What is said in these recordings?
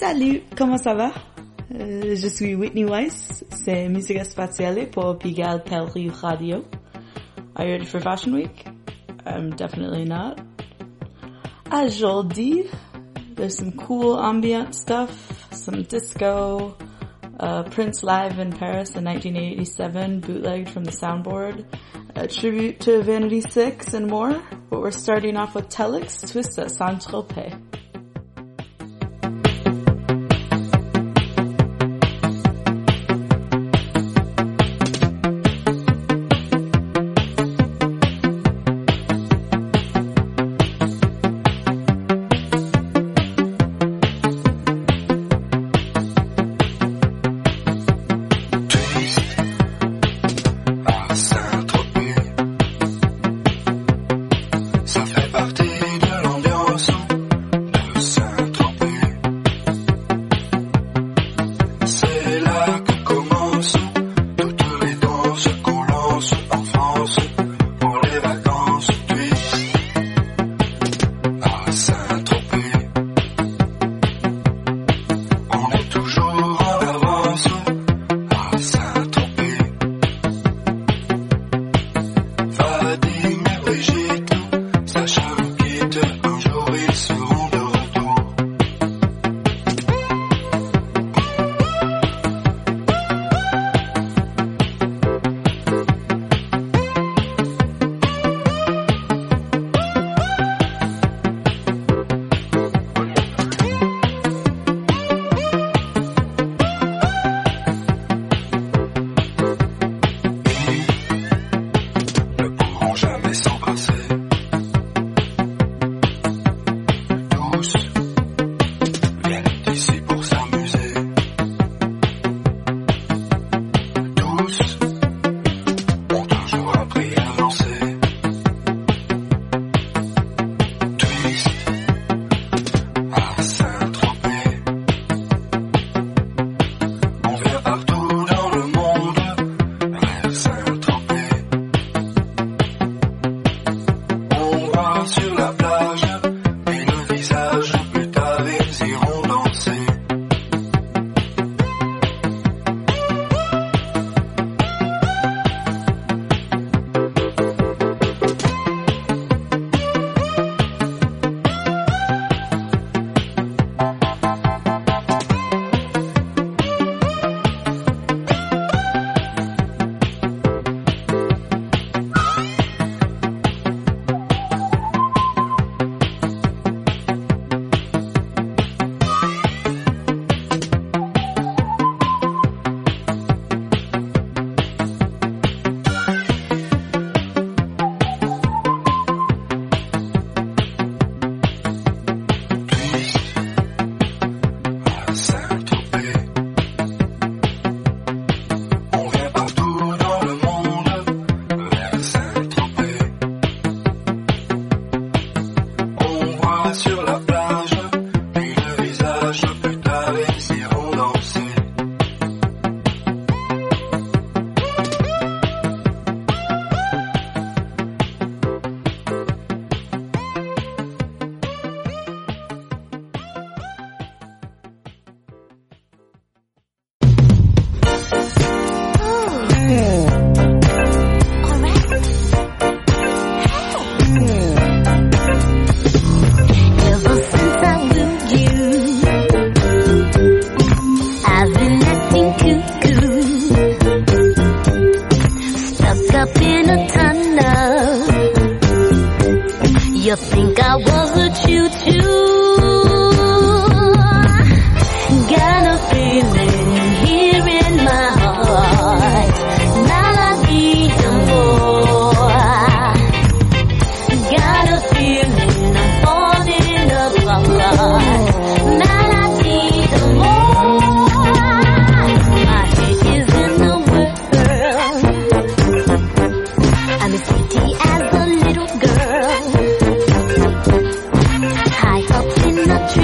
Salut, comment ça va? Je suis Whitney Weiss, c'est Musique Spatiale pour Pigalle Pellery Radio. Are you ready for Fashion Week? I'm definitely not. Aujourd'hui, there's some cool ambient stuff, some disco, Prince live in Paris in 1987, bootlegged from the soundboard, a tribute to Vanity 6 and more, but we're starting off with Telex Twist at Saint-Tropez. High up in the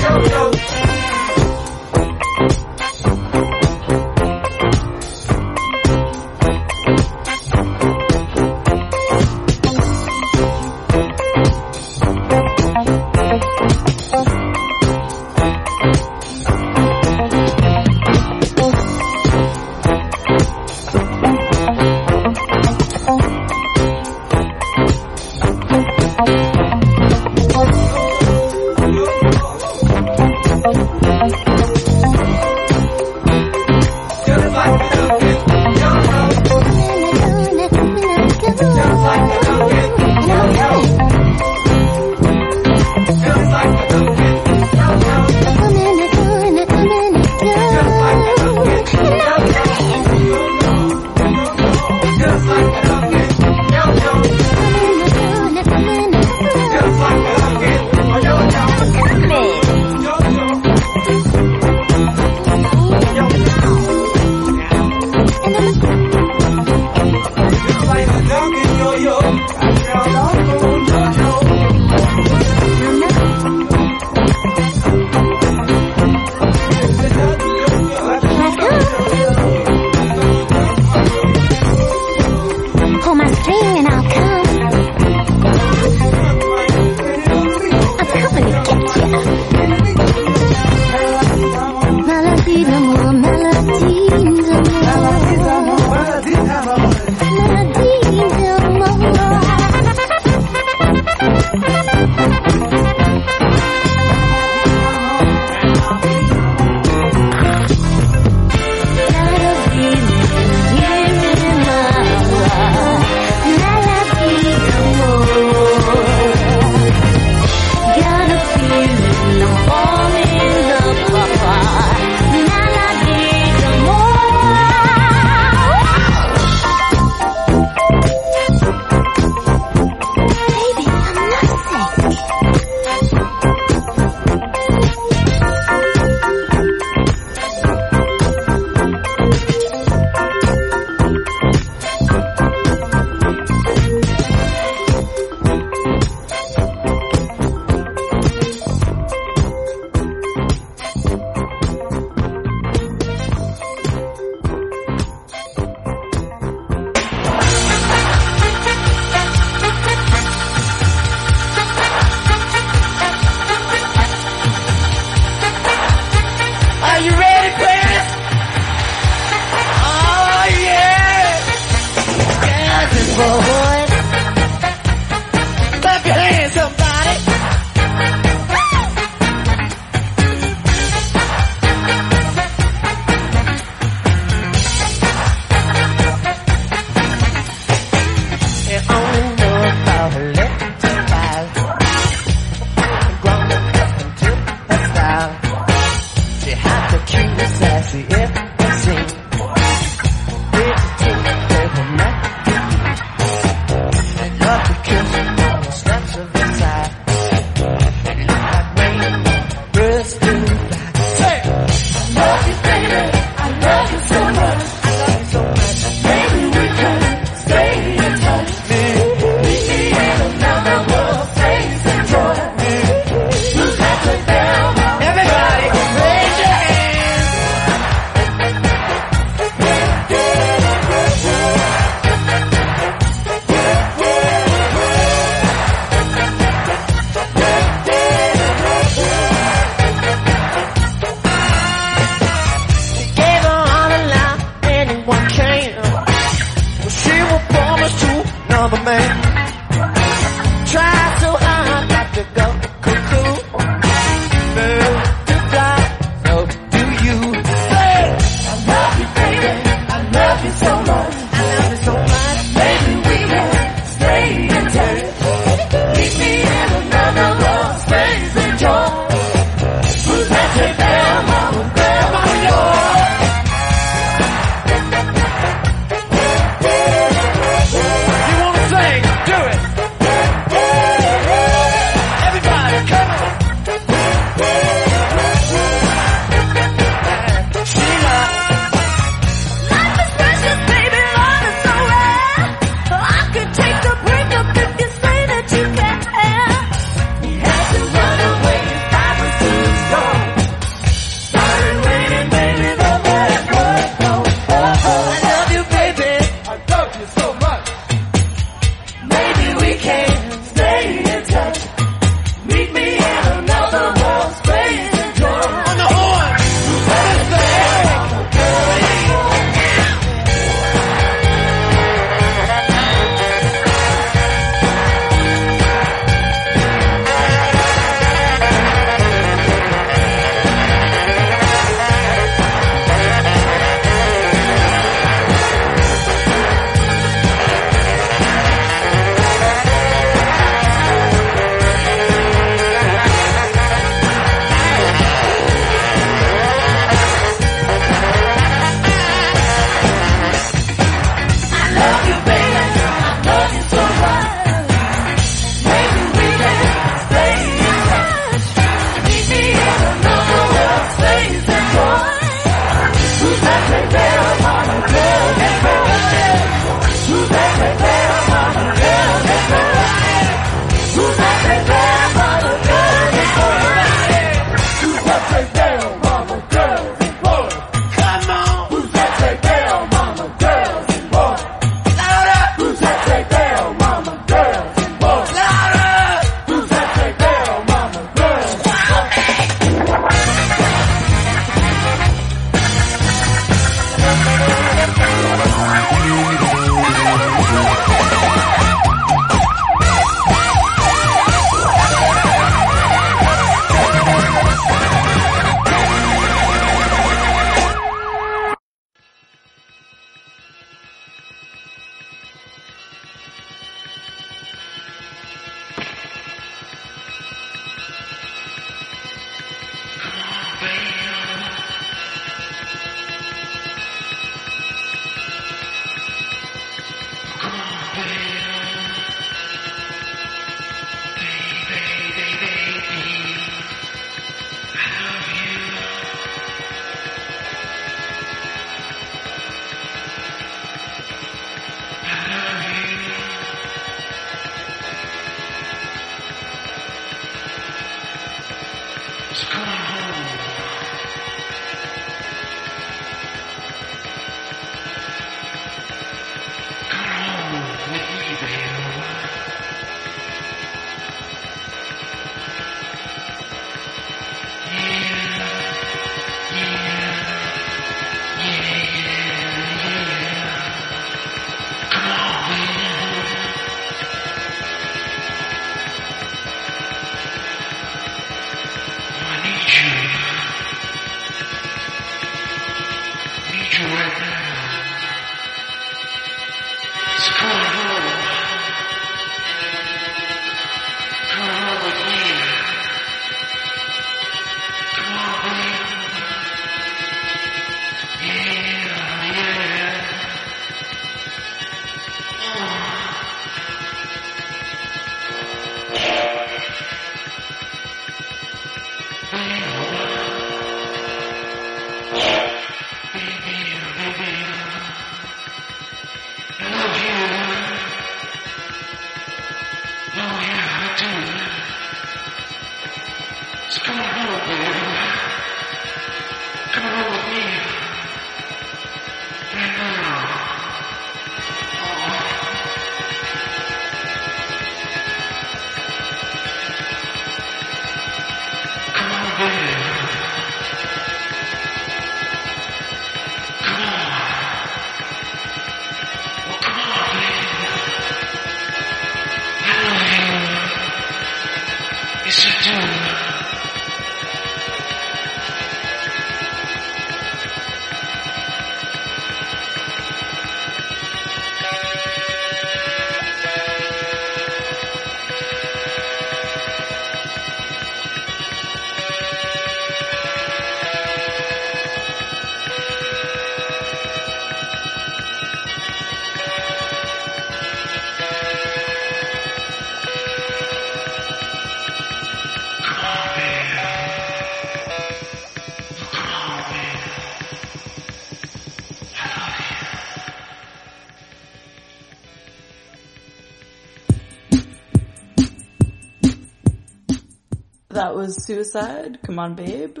That was Suicide, Come On Babe.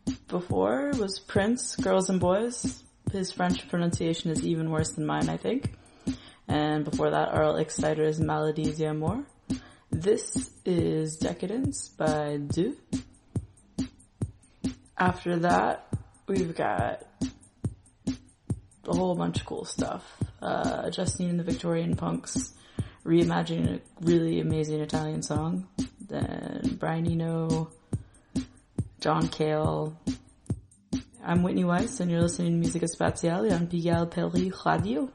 Before was Prince, Girls and Boys. His French pronunciation is even worse than mine, I think. And before that, Earl Exciter's Maladies d'Amour. This is Decadence by Deux. After that, we've got a whole bunch of cool stuff. Justine and the Victorian Punks reimagining a really amazing Italian song. Then Brian Eno, John Cale. I'm Whitney Weiss, and you're listening to Musica Spaziale on Pigalle Paris Radio.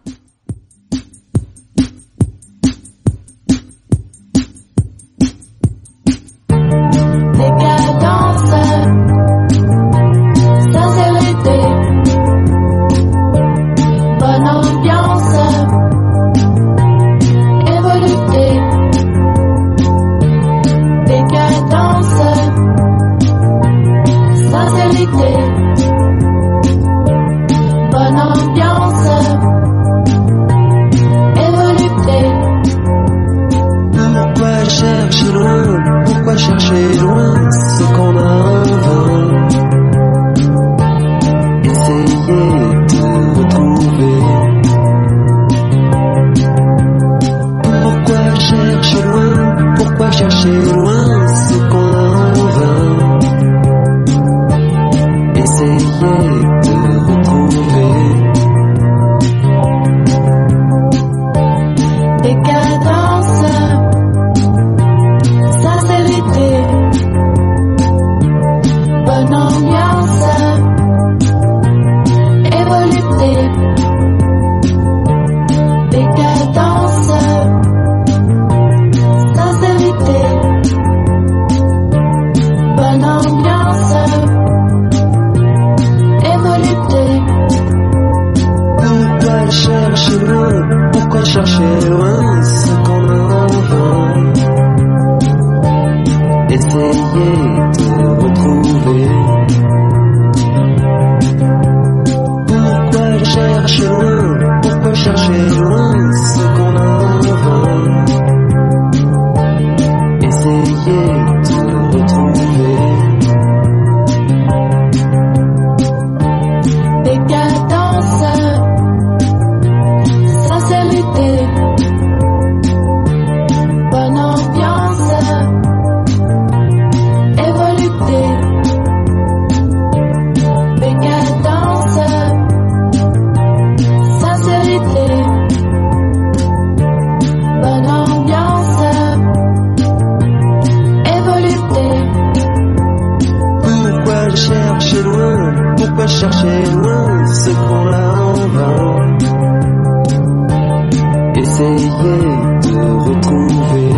essayer de retrouver.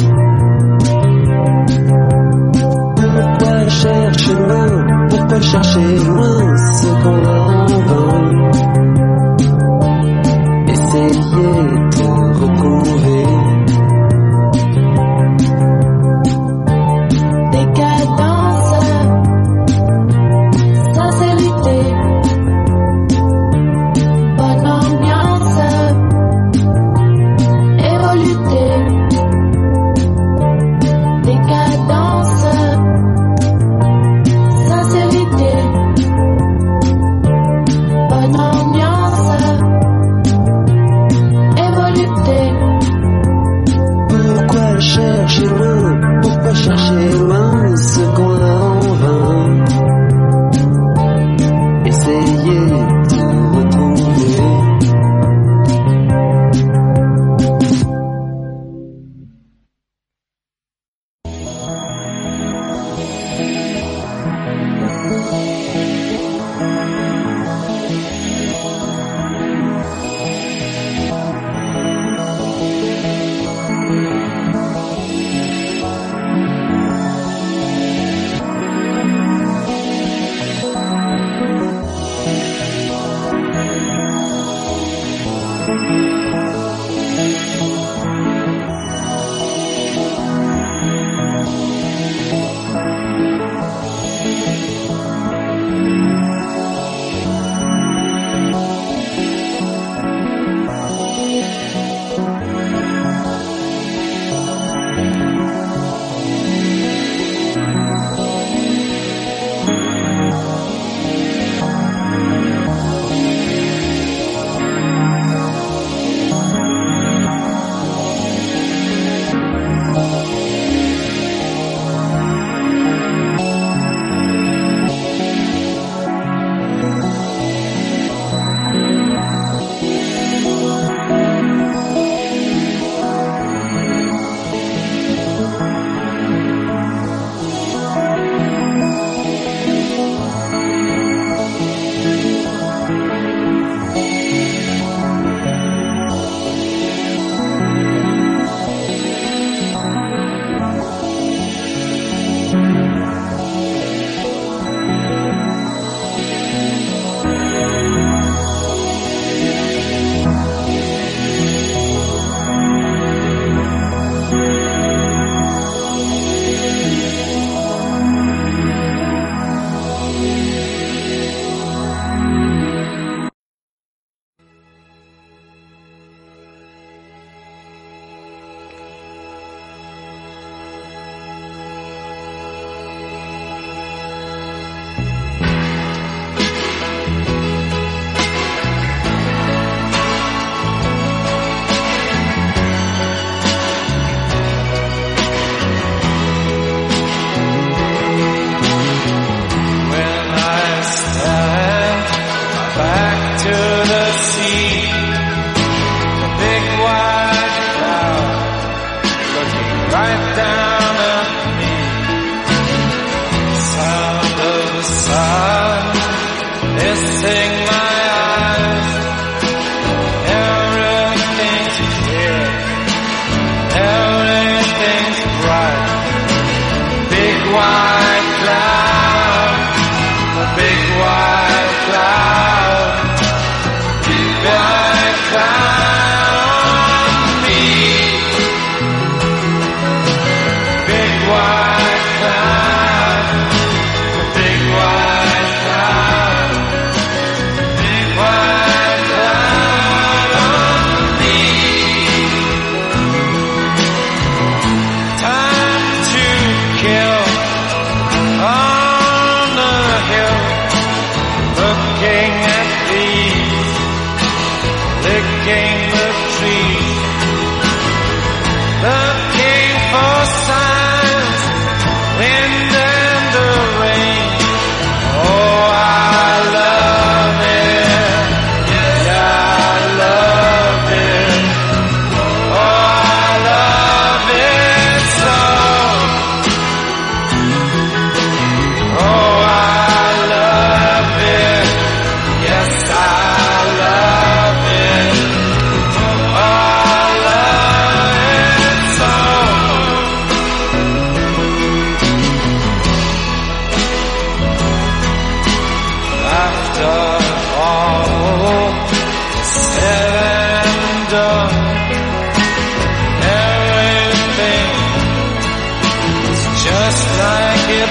Pourquoi chercher loin, pourquoi chercher loin ce qu'on a en vain? Essayer de retrouver. Chercher loin ce qu'on a en vain. Essayer de retrouver.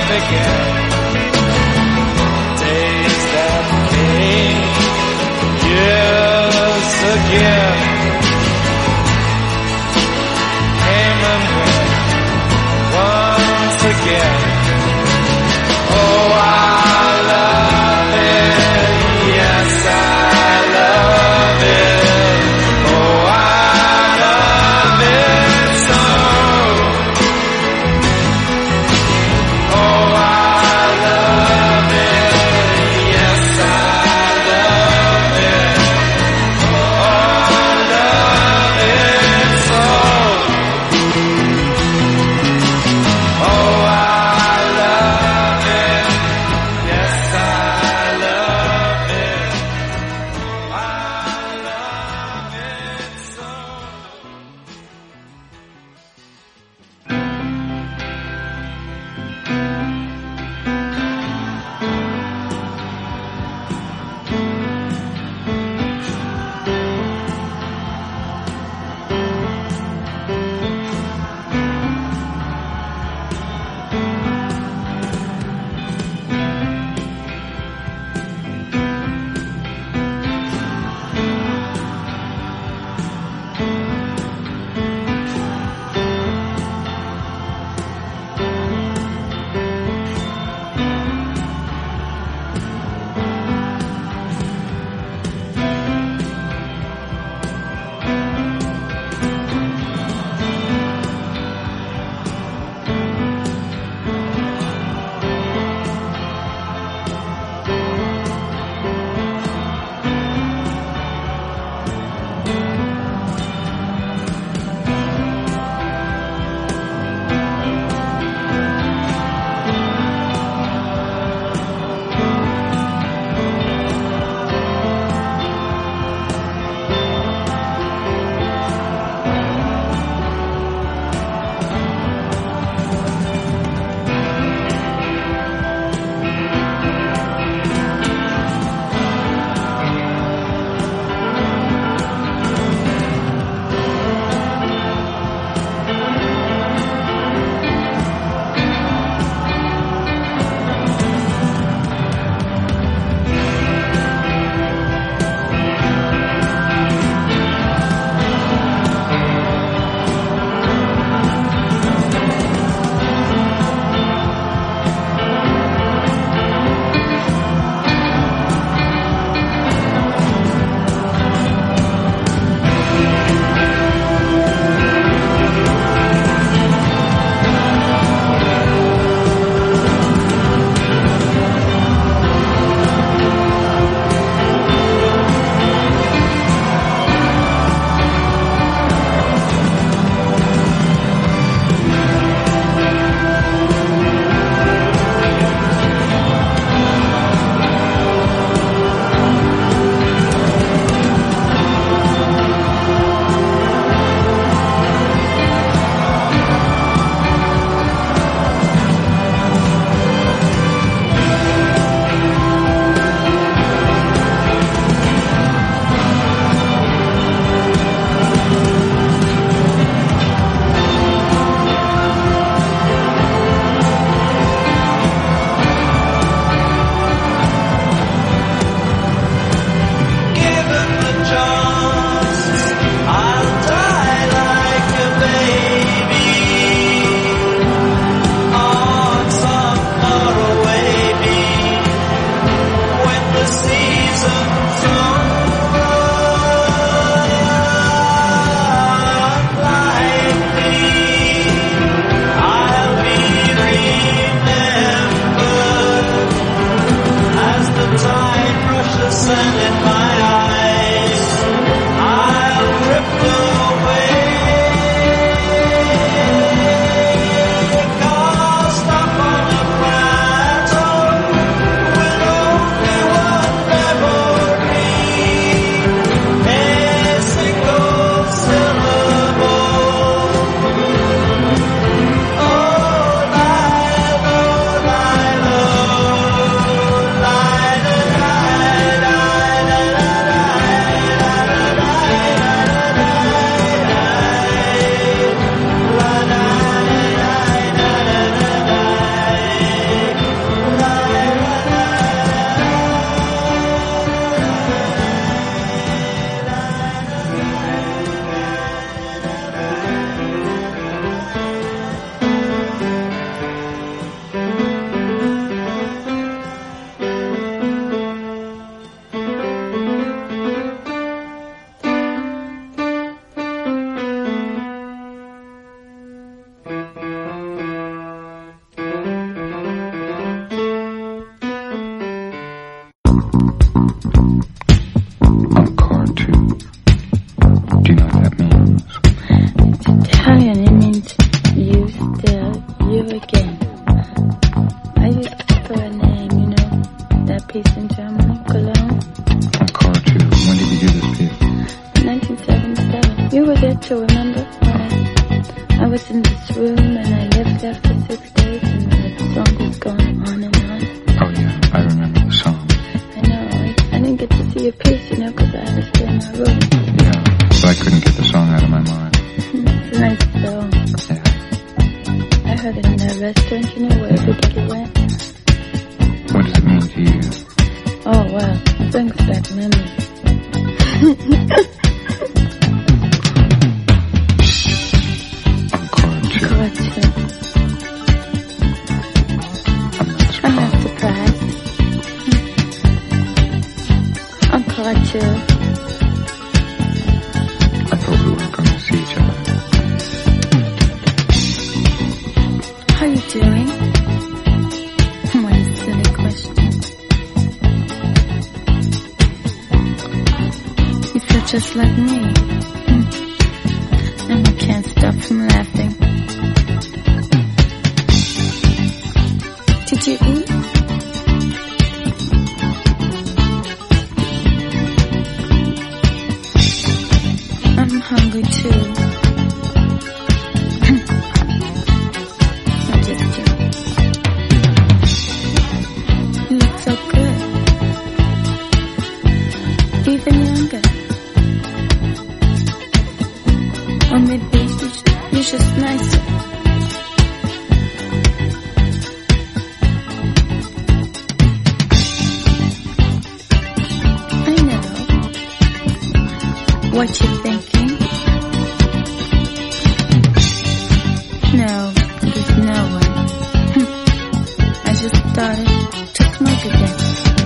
forget days that came years again. Came and went once again. Oh, I love it. Yes, I love it. Oh, I love it so. Oh, I love it. Yes, I love it. Oh, I love it so. Oh, I love it. Yes, I love it. I love it so. Rachel, remember when I was in this room and I left after 6 days and the song was going on and on? Oh yeah, I remember the song. I know, I didn't get to see your piece, you know, because I had to stay in my room. Yeah, but I couldn't get the song out of my mind. It's a nice song. Yeah. I heard it in that restaurant, you know, where everybody went. What does it mean to you? Oh, wow, it brings back memories. Encore two. I'm not surprised. Encore two. I thought we were going to see each other. How you doing? What a silly question. You feel just like me. And I can't stop from laughing. Did you eat? I'm hungry too. I just do. You look so good. Even younger. Or maybe you're just nicer. I know what you're thinking. No, there's no one. I just started to smoke again.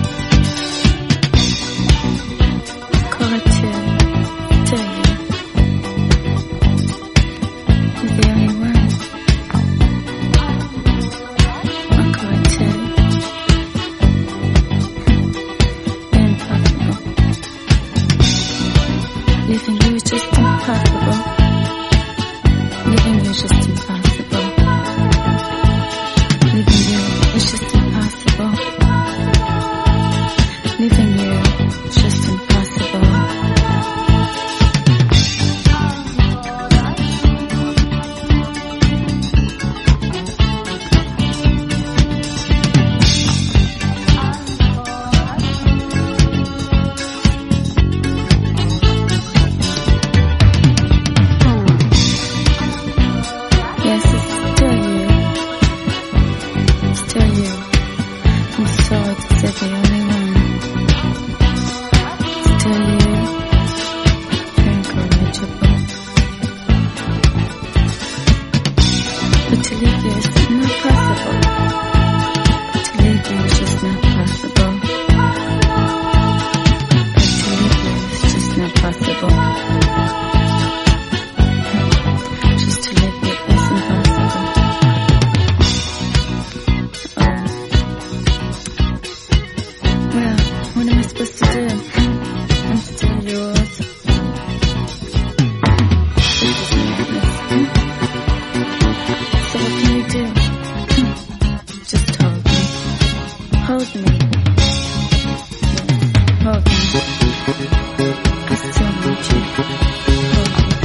Call it two. Tell you. You're the only one. I'll call it two. Impossible. Leaving you is just impossible. Leaving you is just impossible. Leaving you is just impossible. Leaving you is just impossible. Yes, it's still you. Still you. I'm sorry to say the only one. Still you. Incorrigible. But to leave you is not possible. To leave you is just not possible. To leave you is just not possible. Just to leave you is impossible. Well, what am I supposed to do? I'm still yours. This is madness. So what can you do? Just hold me. Hold me. Hold me. I still want you. Hold me.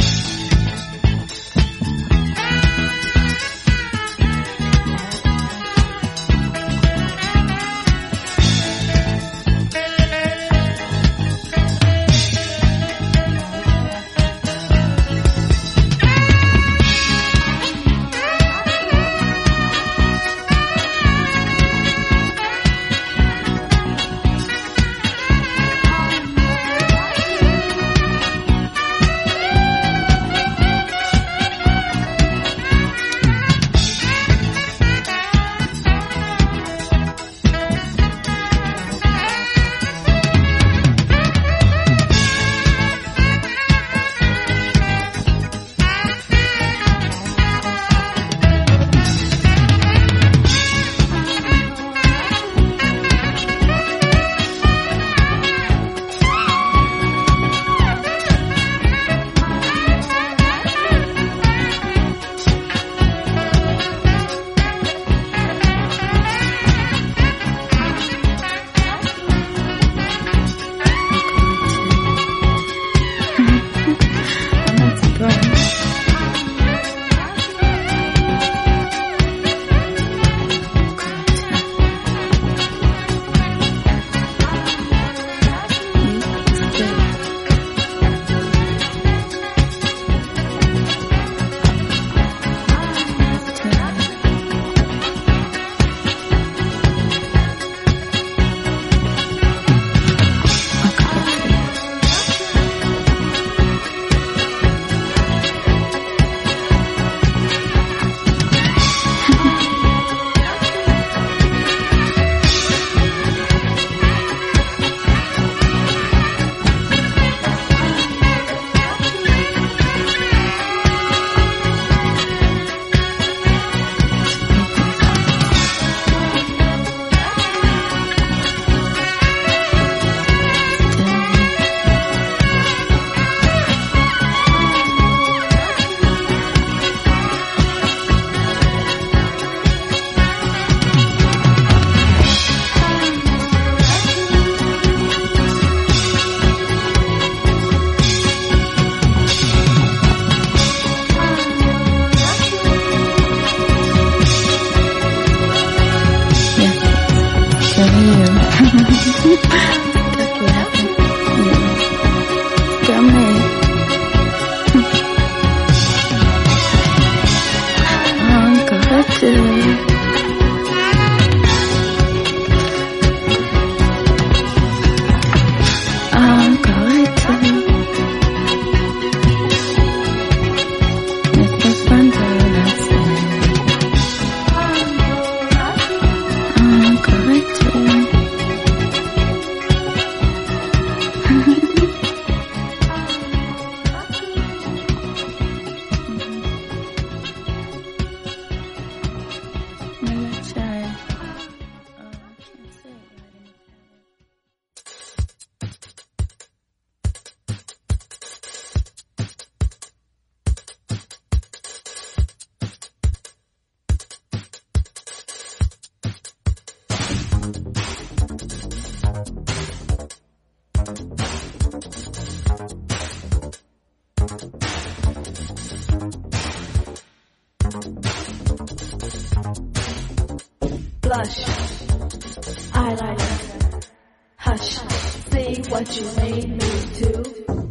Blush, eyeliner, hush, see what you made me do.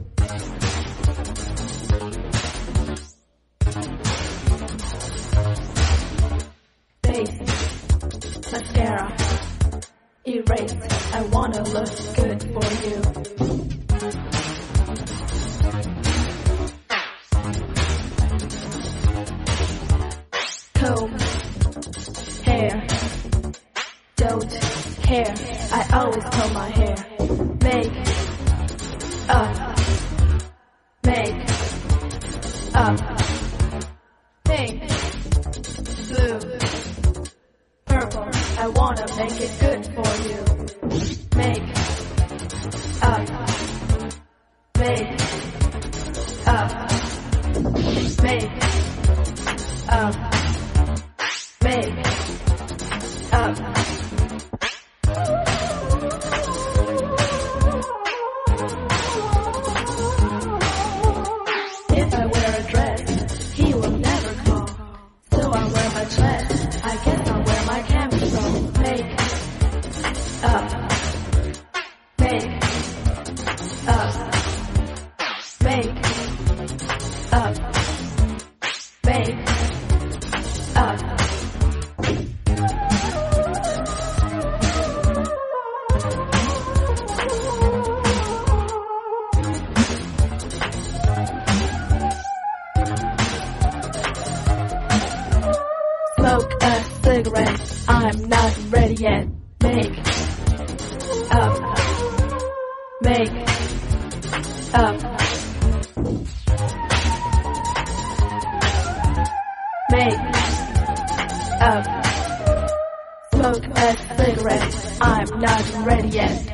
Face, mascara, erase, I wanna look good for you. Comb, hair, don't care, I always comb my hair. Make up, pink, blue, purple, I wanna make it good for you. Make up, make up, make up, make up. If I wear a dress, he will never call. So I wear my dress, I guess I'll wear my camisole. Make up, make up, make up, make up. Smoke a cigarette, I'm not ready yet. Make up, make up, make up. Smoke a cigarette, I'm not ready yet.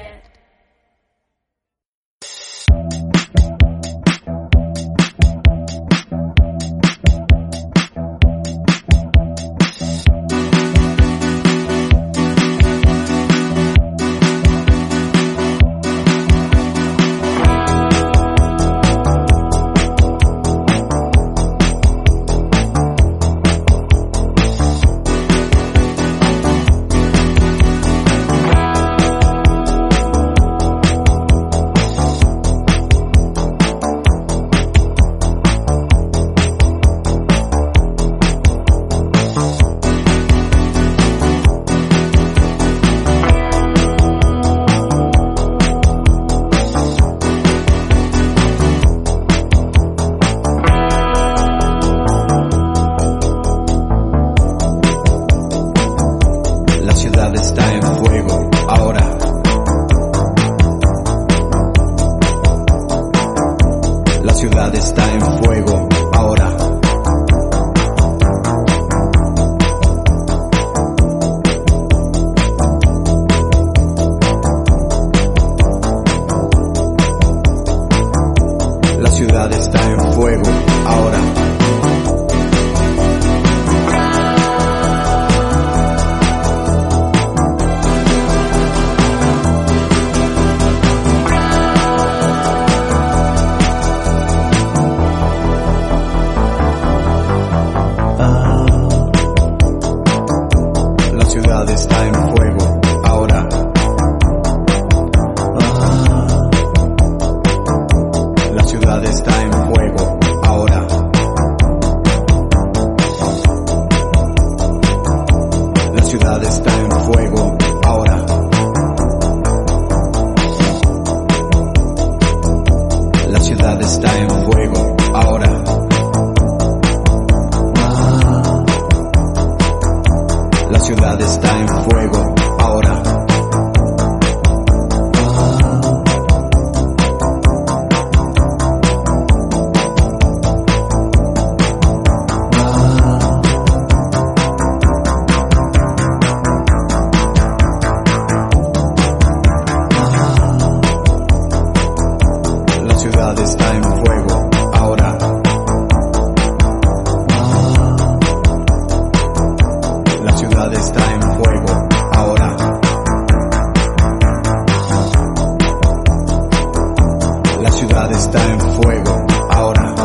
ciudad está en fuego ahora.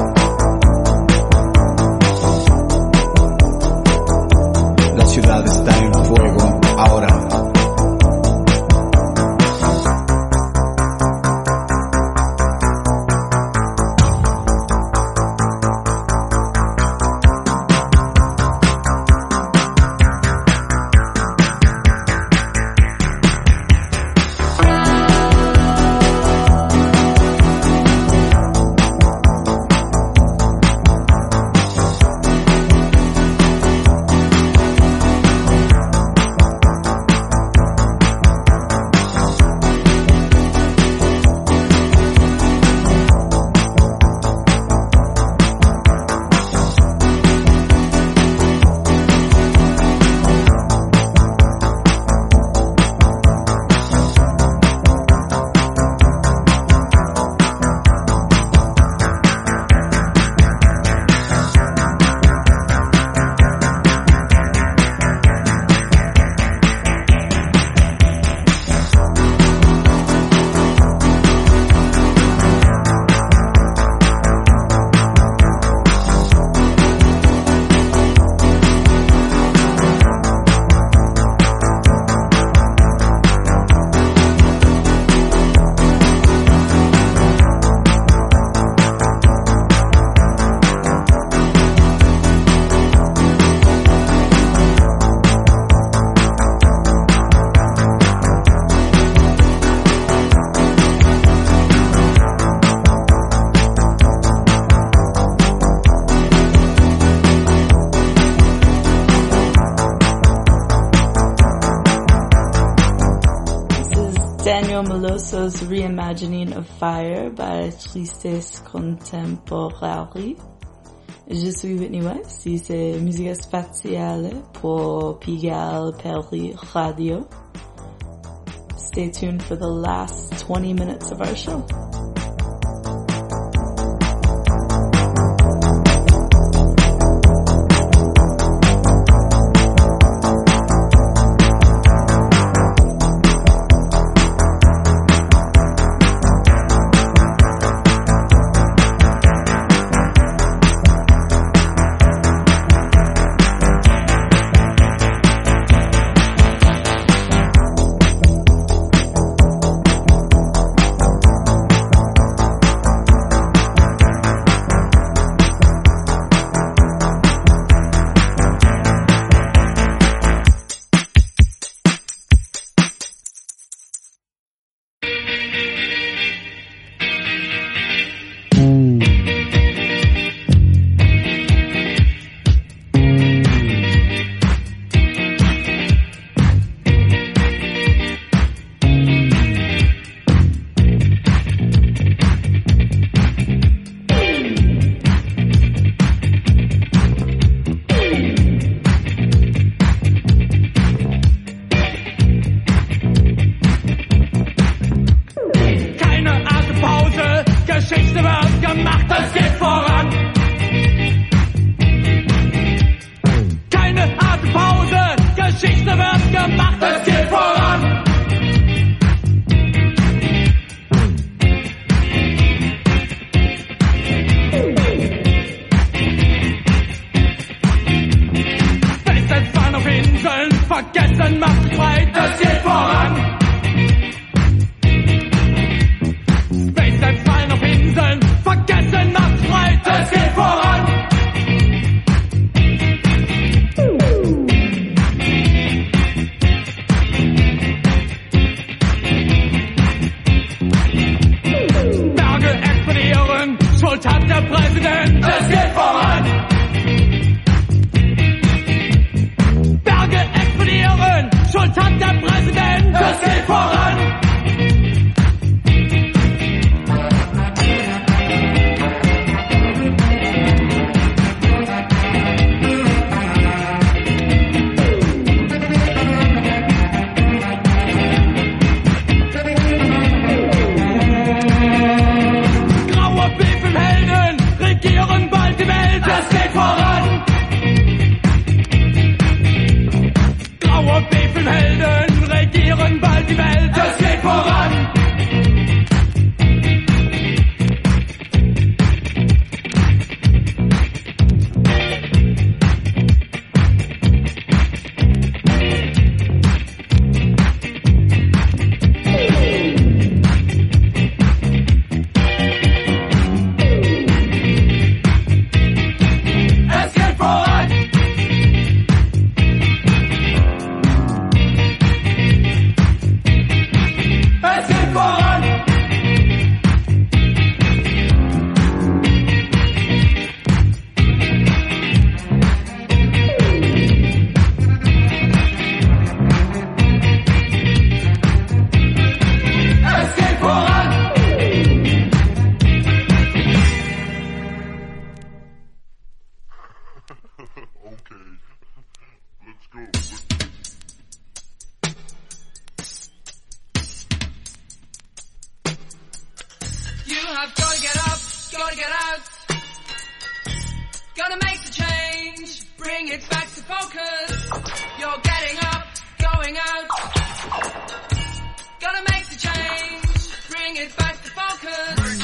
La ciudad está en fuego ahora. Daniel Meloso's reimagining of Fire by Tristes Contemporary. Je suis Whitney Weiss, y c'est Musica Spaziale pour Pigalle Perry Radio. Stay tuned for the last 20 minutes of our show. Graue Beben Helden regieren bald You have gotta get up, gotta get out. Gotta make the change, bring it back to focus. You're getting up, going out. Gotta make the change, bring it back to focus.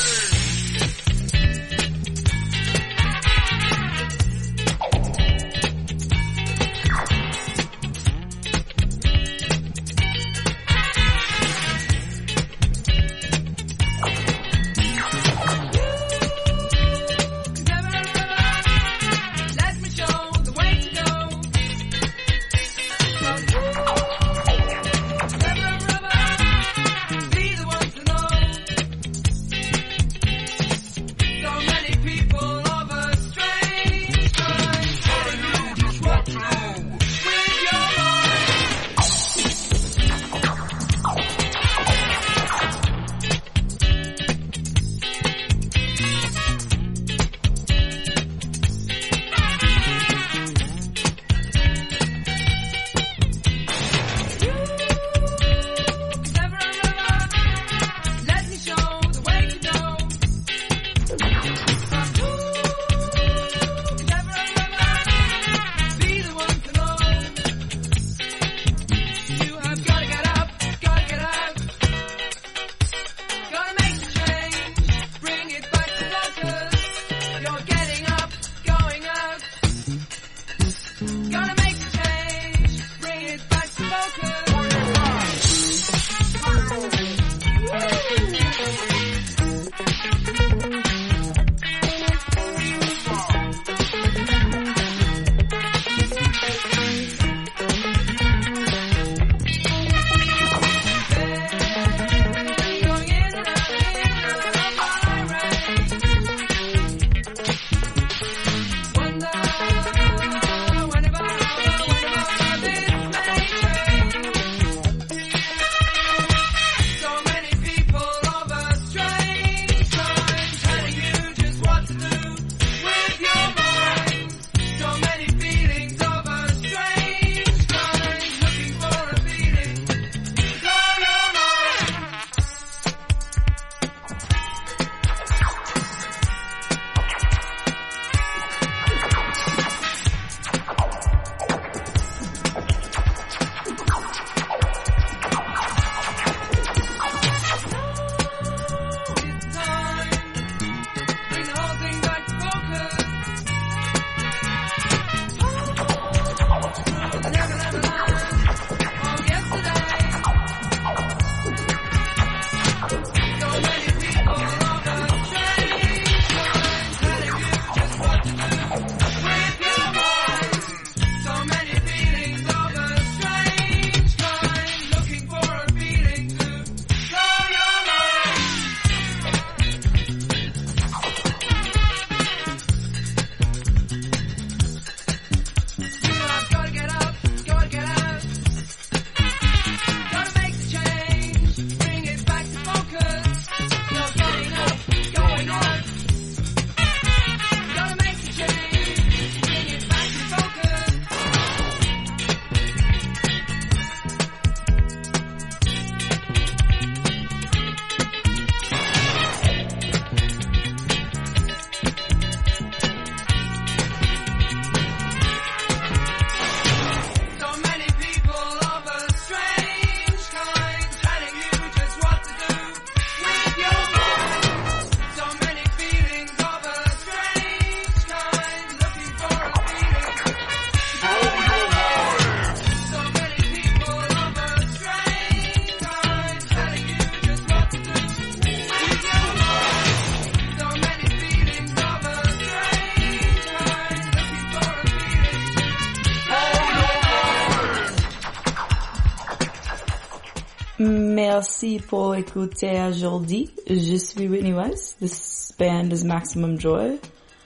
Merci pour écouter aujourd'hui. Je suis Whitney Weiss. This band is Maximum Joy.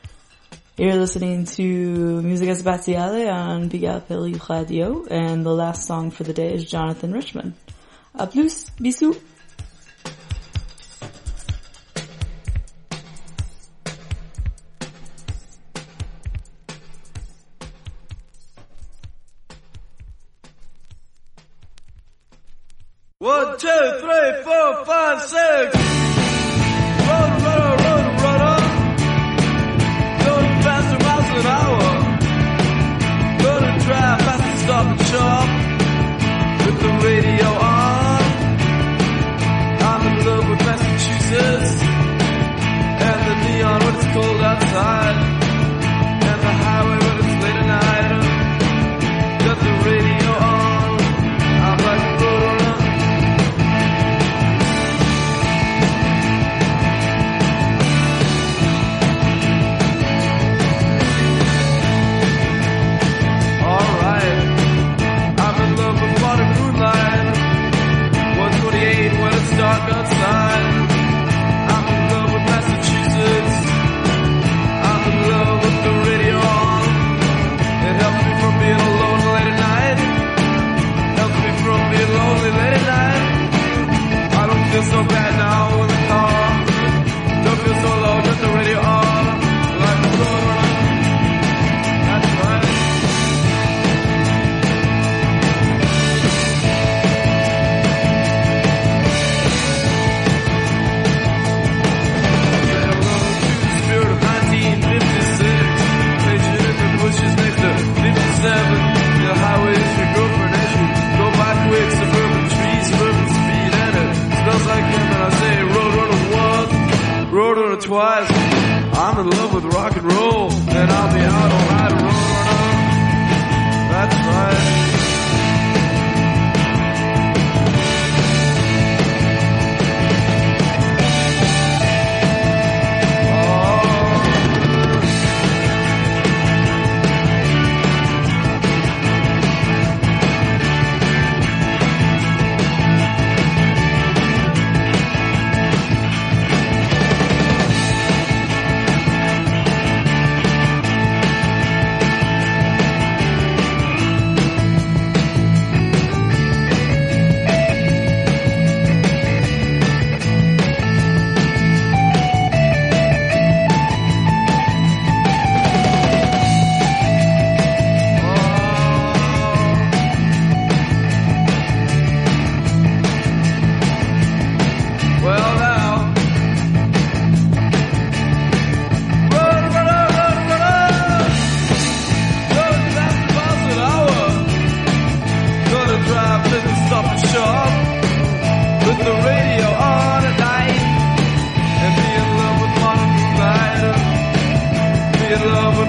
You're listening to Musica Spaziale on Big Apple Radio, and the last song for the day is Jonathan Richman. A plus, bisous. One, two, three, four, five, six. wrote her twice. I'm in love with rock and roll, and I'll be out all night rolling. That's right. Love